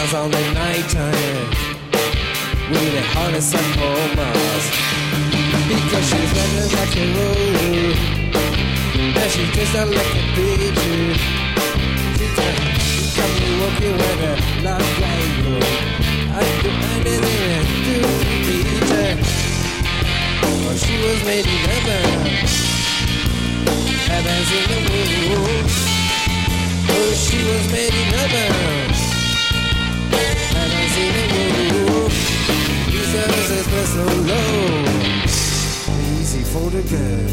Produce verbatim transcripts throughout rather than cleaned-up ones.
stars on the night time with a harness and homers. Because she's running like a roll, and she just like a picture. She got me walking with a love like you. I do anything and do it. Oh, she was made in heaven, heaven's in the moon. Oh, she was made in heaven, heaven's in the moon. Jesus is blessed so low. Easy for the girl,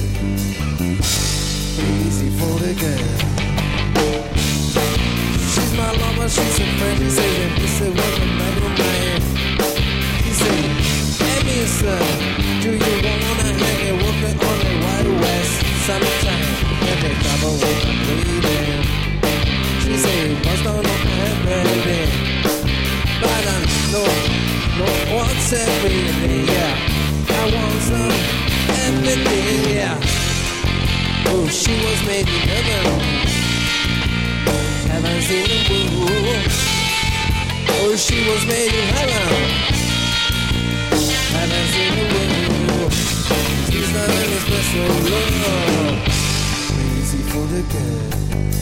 easy for the girl. She's my lover, she's a friend. She said, this is what the man of mine. He said, hey mister, do you wanna hang and walk it on the Wild West? Summertime, and they double with the bleeding. She said, bust on up my head, baby. But I know, no what's everything, yeah. I want some everything, yeah. Oh, she was made in heaven, heaven's in the moon. Oh, she was made in heaven, heaven's in the moon. She's not in a special love. Crazy for the girl,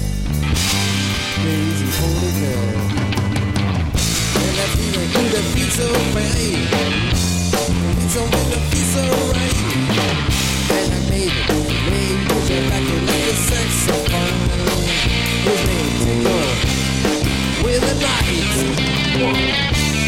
crazy for the girl. And I feel like you that feel so right. It's only that feel so right. And I made it, made it, you like it like a saxophone. Was made to go with the lights.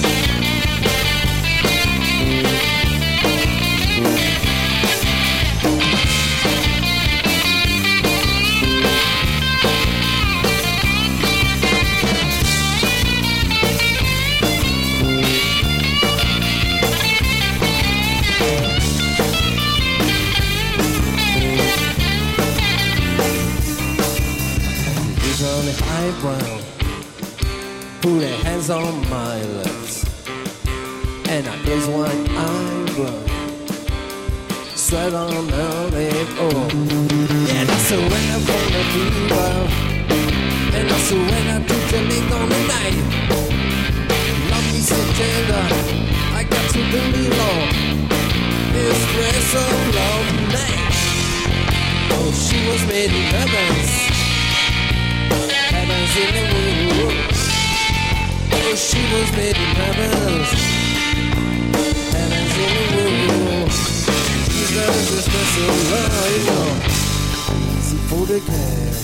On the high ground, put their hands on my lips, and I close one eyebrow, sweat on my lip. Oh, yeah, that's the way I'm gonna do, and that's the way I do the link on the night. Love me so tender, I got to believe on espresso love night. Oh, she was made in heavens, heaven's in the moon. Oh, she was made in heavens, heaven's in the moon. She's got a special love, you know. Crazy for the girl,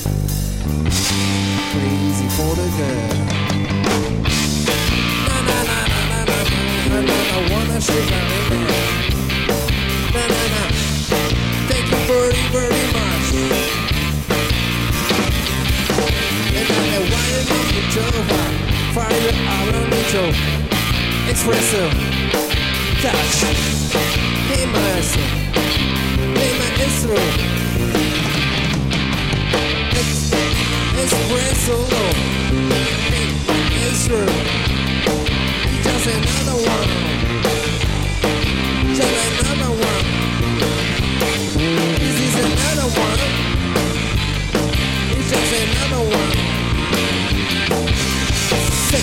crazy for the girl. Na na na na na na na na. I wanna shake my hand. Na na na. Thank you very very much. And I know why I'm on the job. Fire out on the job. Espresso. Touch. Hey, mercy. Hey, my intro. Espresso. Hey, my intro. Just another one. Just another one. This is another one. It's just another one. Sick.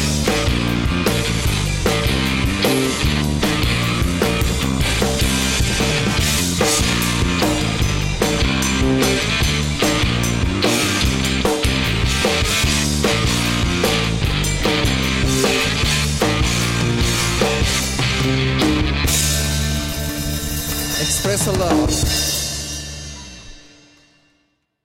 Express a love.